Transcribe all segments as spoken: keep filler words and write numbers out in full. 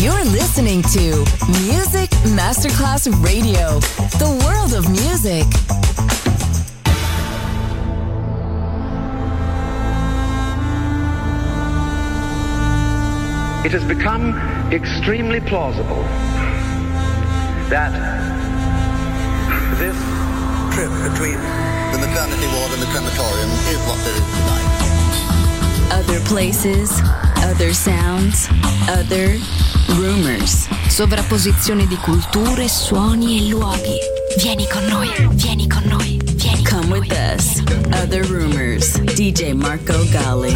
You're listening to Music Masterclass Radio, the world of music. It has become extremely plausible that this trip between the maternity ward and the crematorium is what there is tonight. Other places, other sounds, other rumors. Sovrapposizione di culture, suoni e luoghi. Vieni con noi, vieni con noi, vieni Come con with noi. us. Other rumors. D J Marco Gally.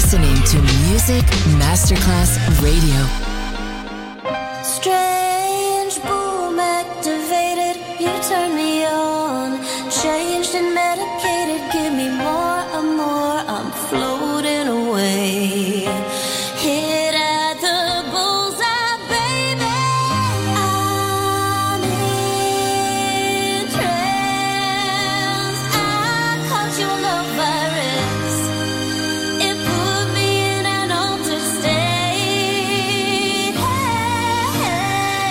listening to Music Masterclass Radio. Strange boom activated, you turn me on. Changed and medicated, give me more and more. I'm floating away. Hit at the bullseye, baby. I'm in trance. I caught your love virus. It put me in an altered state. Hey, hey.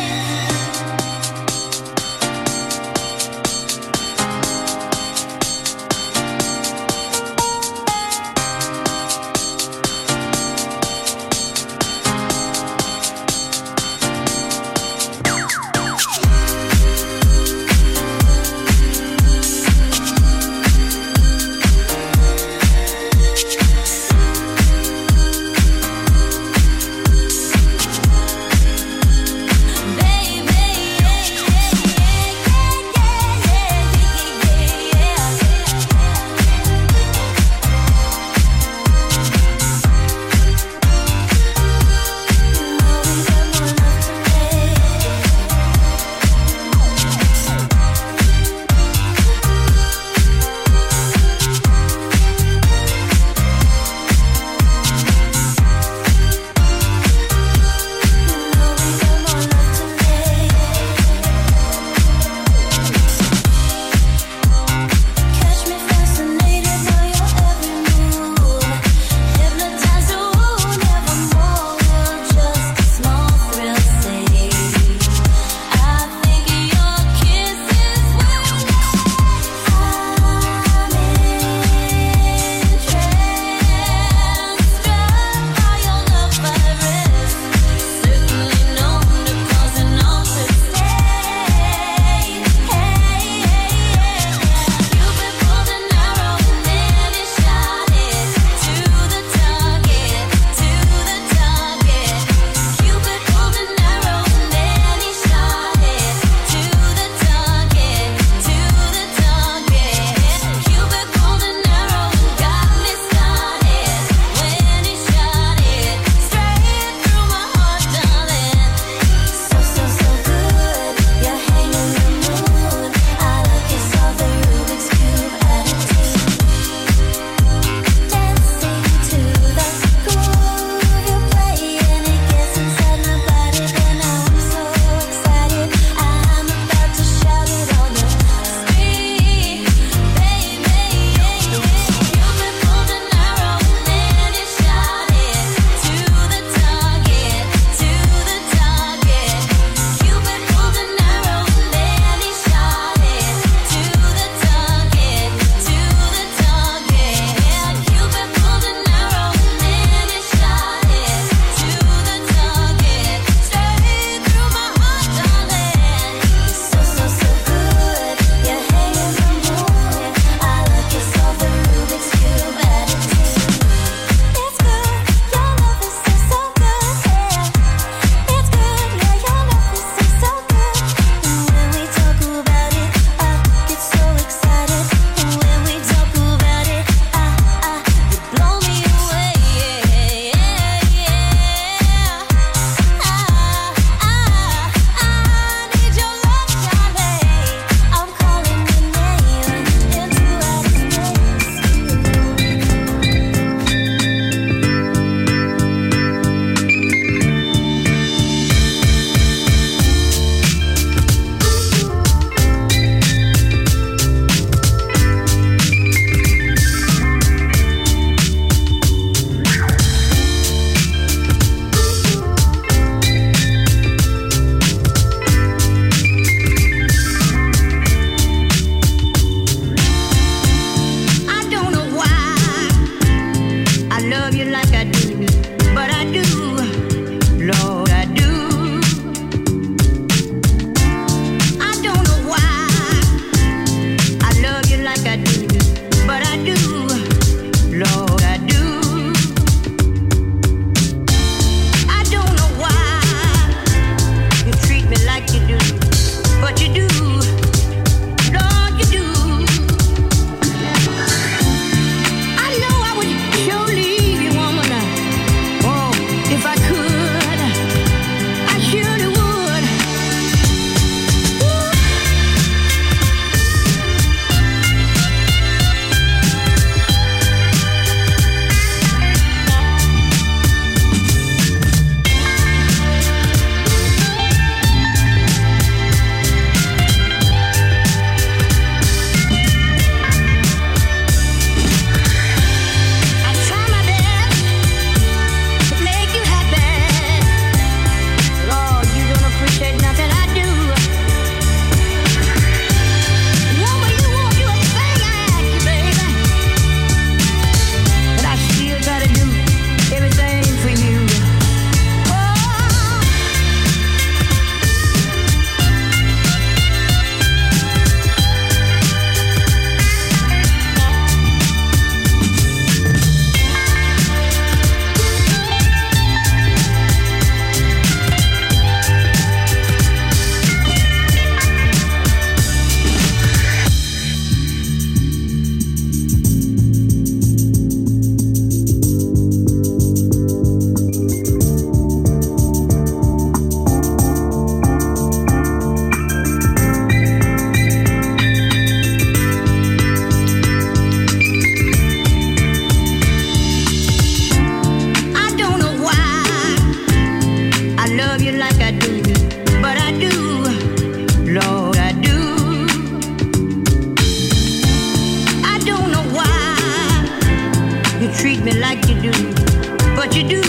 like you do, but you do.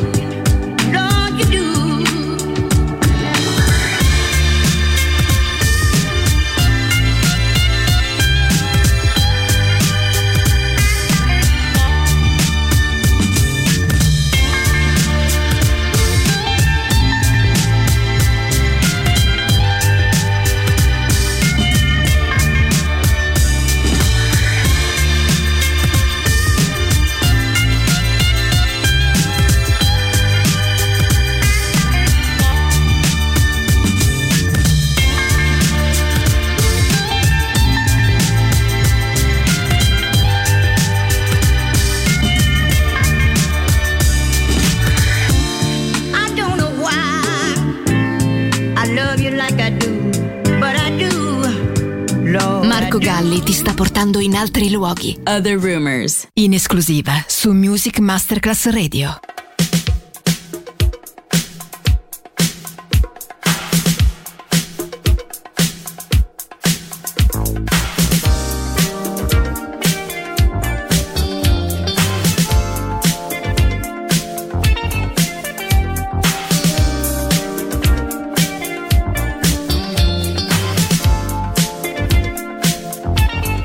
Marco Galli ti sta portando in altri luoghi. Other Rumors. In esclusiva su Music Masterclass Radio.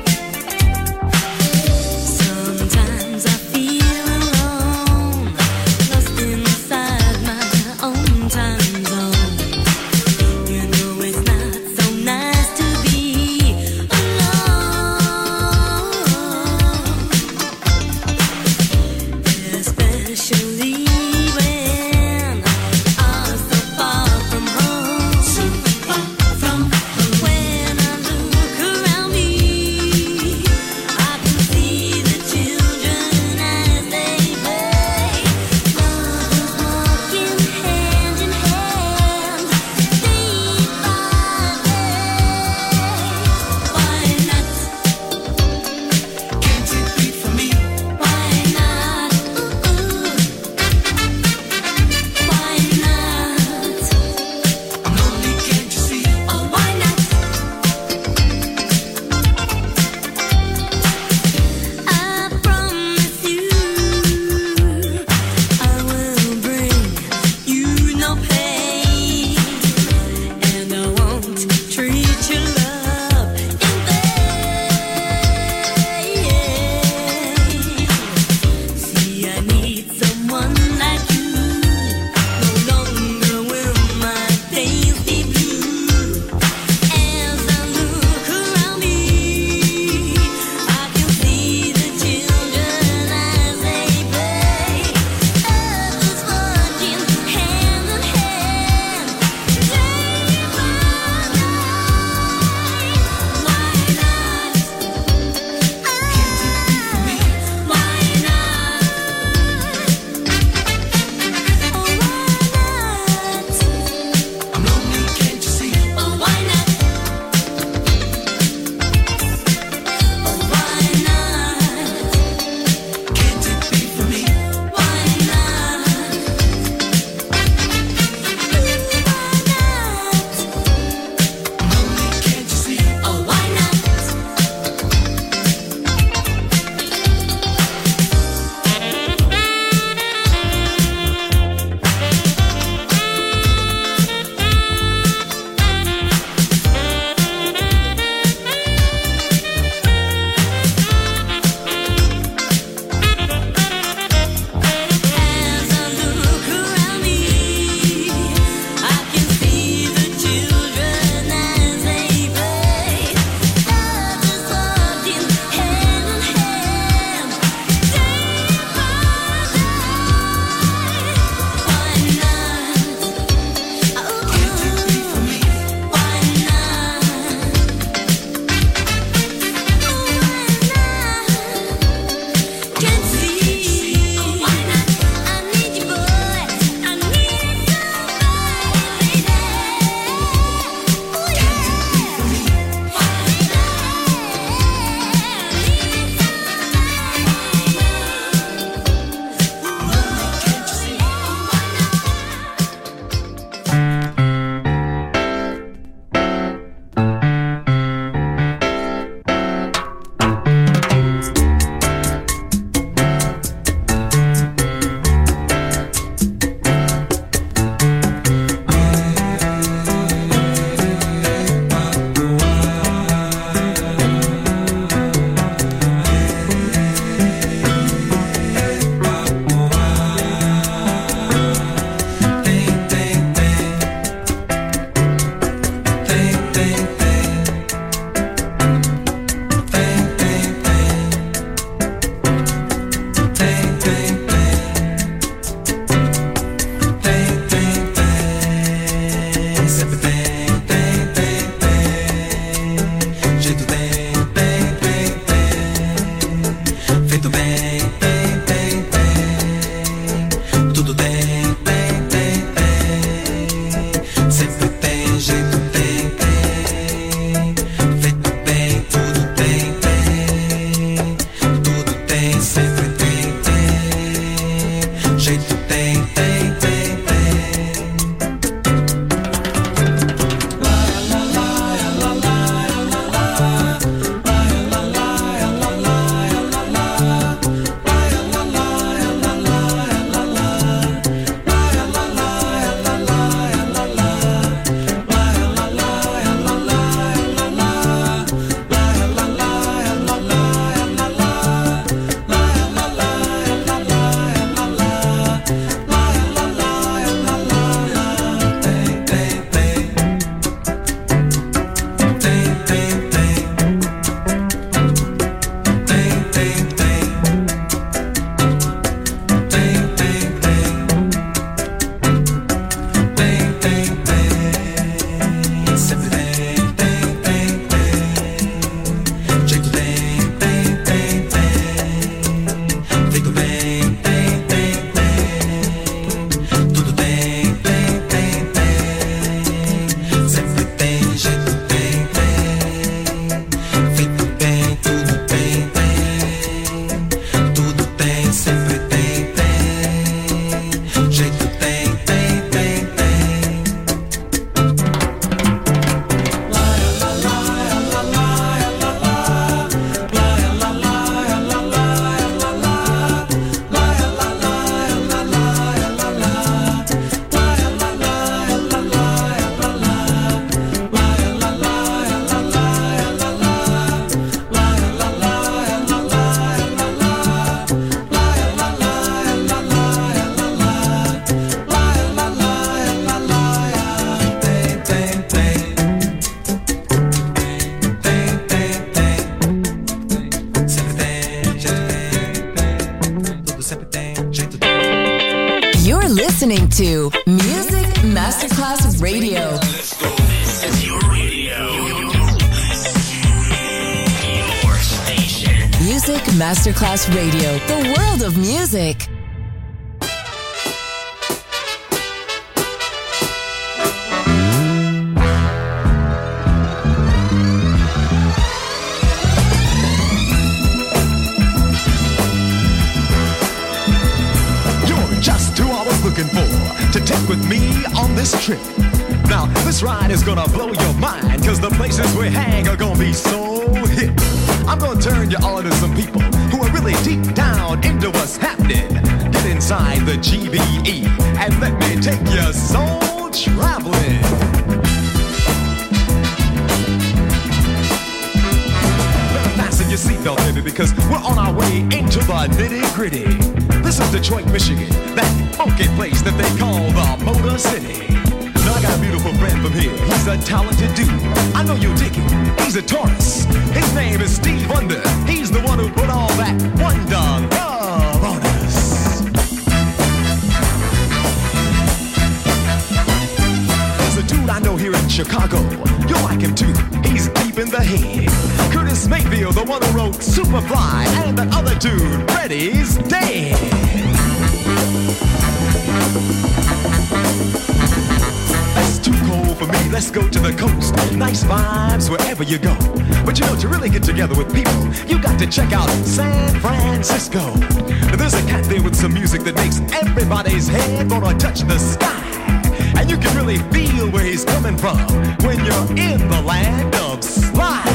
Sometimes I feel alone. listening to Music Masterclass Radio. Let's go. This is your radio. Your station. Music Masterclass Radio. The world of music. Looking for to take with me on this trip. Now this ride is gonna blow your mind, cause the places we hang are gonna be so hip. I'm gonna turn you on to some people who are really deep down into what's happening. Get inside the G B E and let me take your soul traveling. Fasten your seatbelt, baby, because we're on our way into the nitty-gritty. This is Detroit, Michigan, that funky place that they call the Motor City. Now I got a beautiful friend from here. He's a talented dude. I know you'll dig him. He's a Taurus. His name is Steve Wonder. He's the one who put all that wonder love on us. There's a dude I know here in Chicago. You'll like him too. He's deep in the head. Curtis Mayfield, the one who wrote Superfly, and the other dude, Freddie's dead. That's too cold for me. Let's go to the coast. Nice vibes wherever you go. But you know, to really get together with people, you got to check out San Francisco. There's a cat there with some music that makes everybody's head gonna touch the sky. And you can really feel where he's coming from when you're in the land of slide.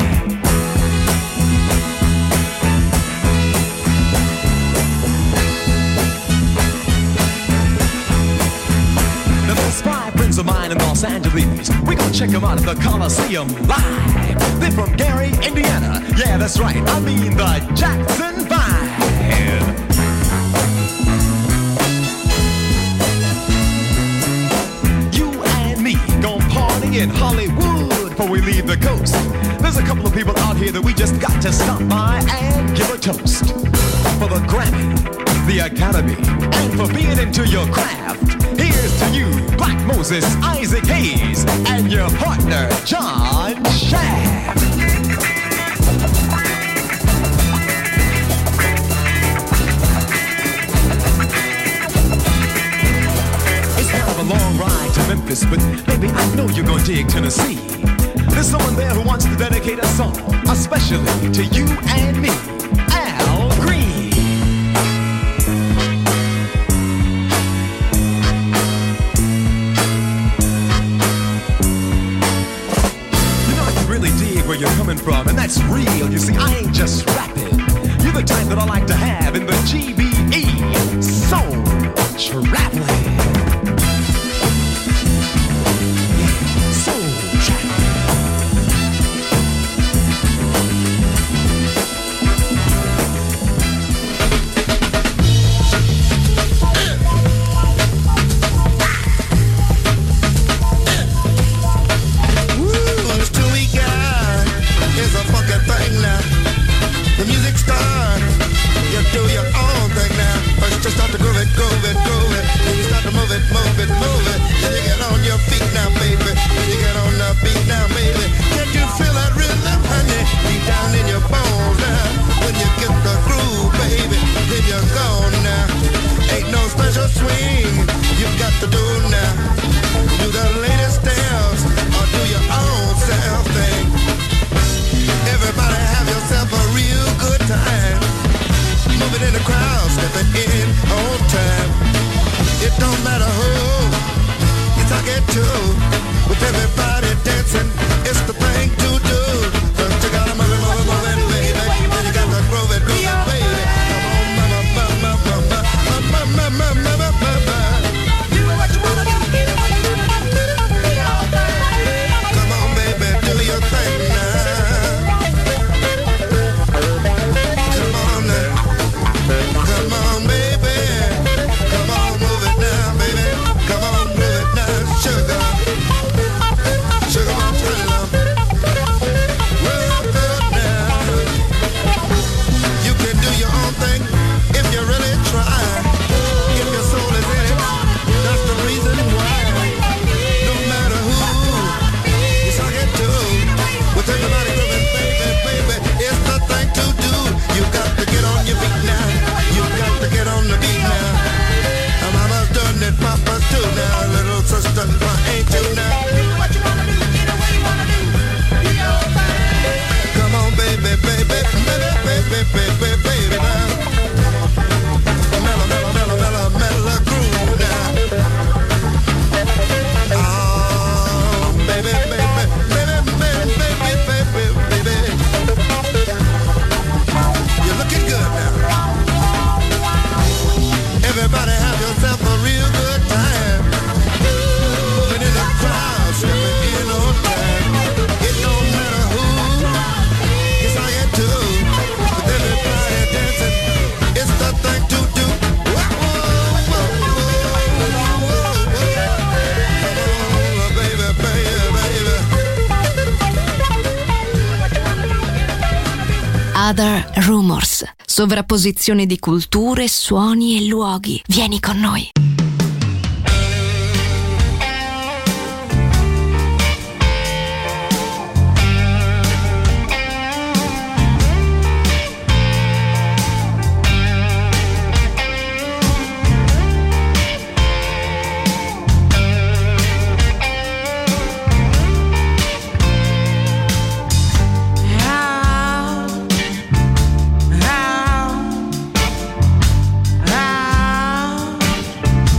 Now there's five friends of mine in Los Angeles. We're gonna check them out at the Coliseum live. They're from Gary, Indiana. Yeah, that's right. I mean the Jackson Five. In Hollywood before we leave the coast. There's a couple of people out here that we just got to stop by and give a toast. For the Grammy, the Academy, and for being into your craft. Here's to you, Black Moses, Isaac Hayes, and your partner, John Shaft. A long ride to Memphis, but baby, I know you're gonna dig Tennessee. There's someone there who wants to dedicate a song, especially to you and me, Al Green. You know I can really dig where you're coming from, and that's real. You see, I ain't just rapping. You're the type that I like to have in the G B E, soul traveling. Other Rumors, sovrapposizione di culture, suoni e luoghi. Vieni con noi. How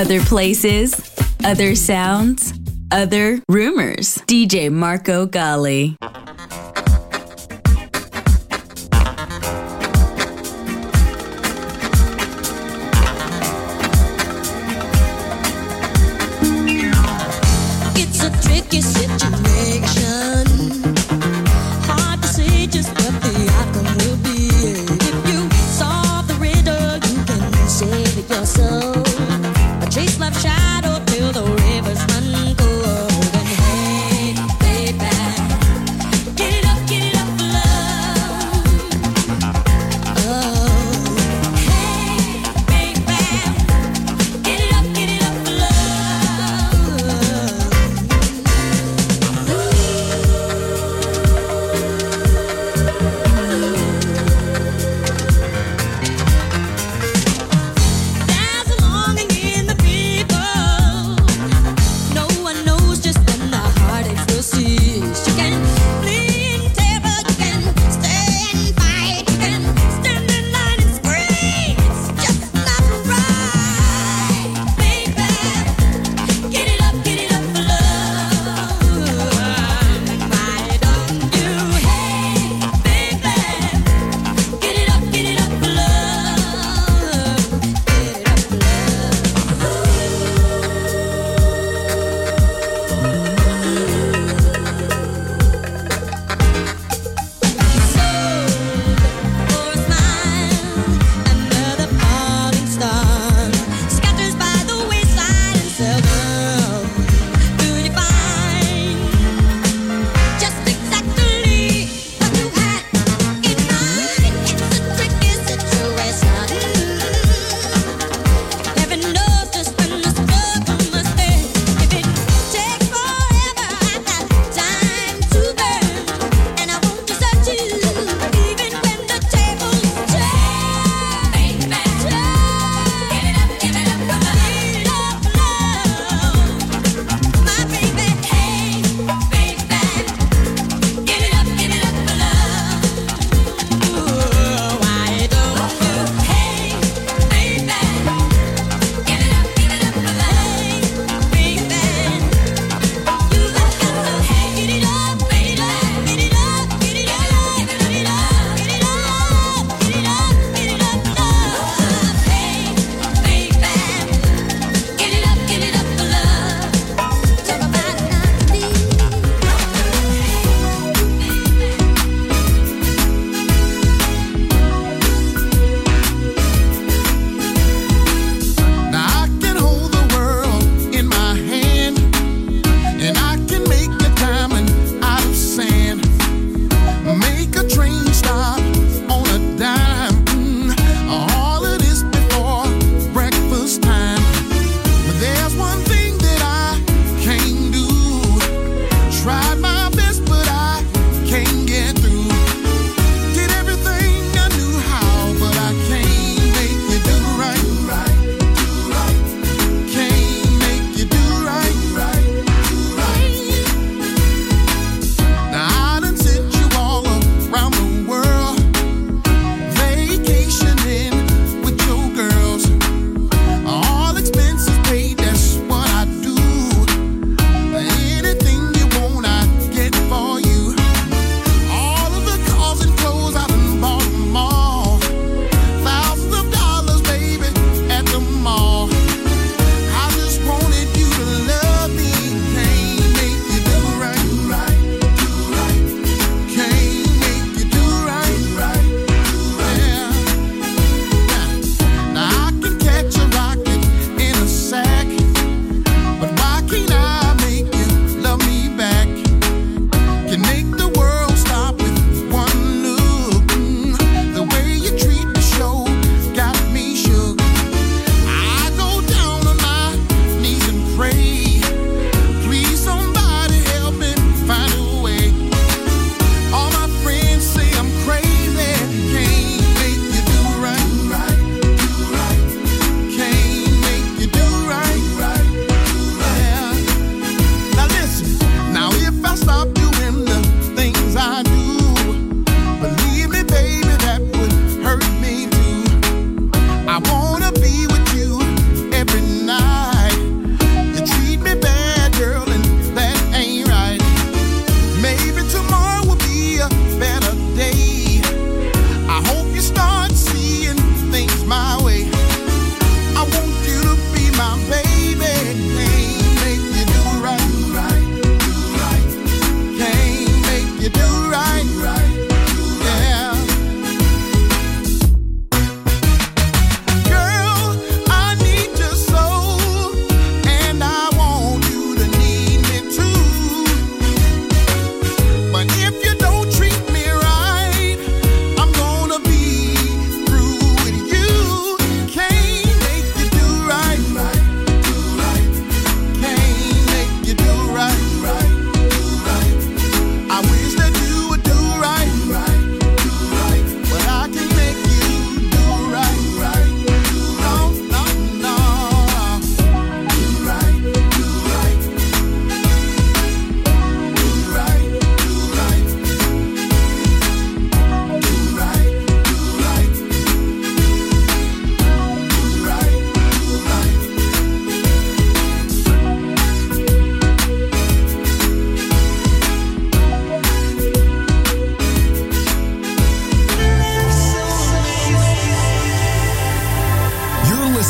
Other places, other sounds, other rumors. D J Marco Gally. It's a tricky situation. Hard to say just what the outcome will be. If you solve the riddle, you can save it yourself. Chase life's shadow till the rivers run cold. And hey, baby,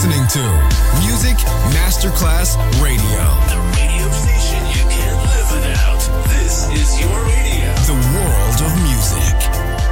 listening to Music Masterclass Radio. The radio station you can't live without. This is your radio. The world of music.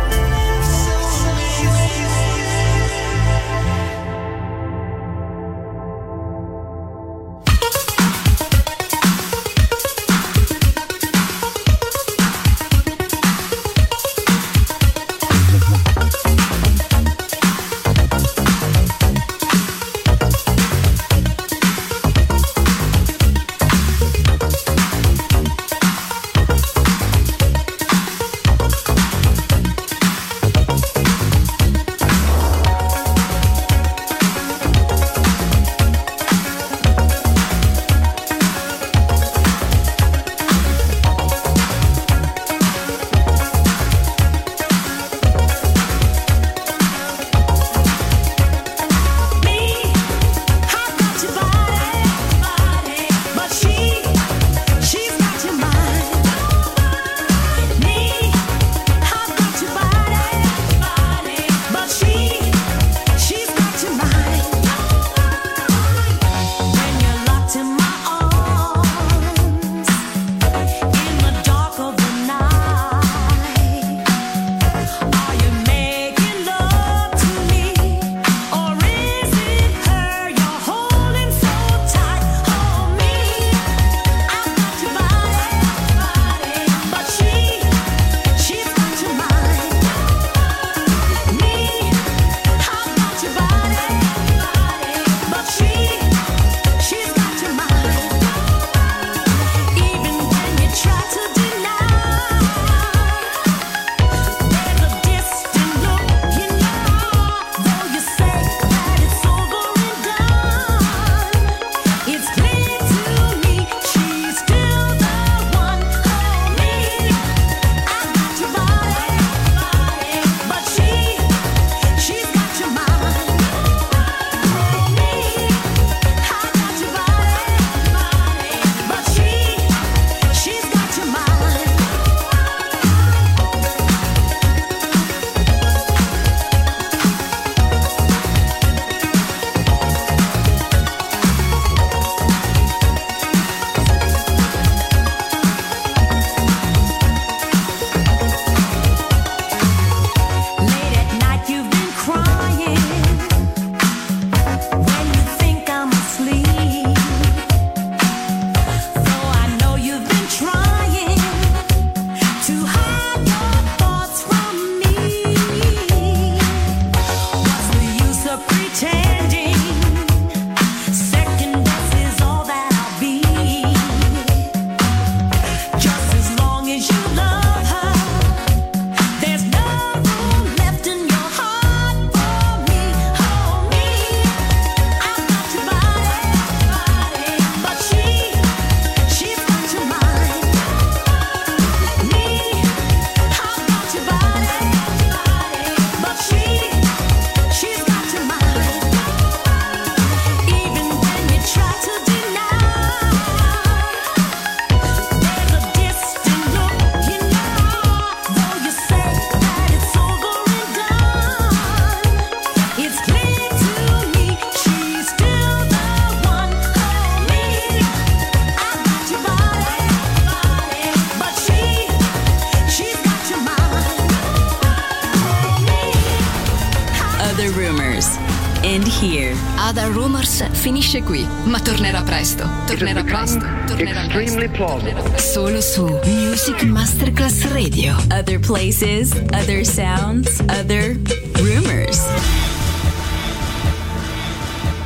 Other Rumors finisce qui, ma tornerà presto. Tornerà presto. Tornerà presto. Tornerà presto. Solo su Music Masterclass Radio. Other places, other sounds, other rumors.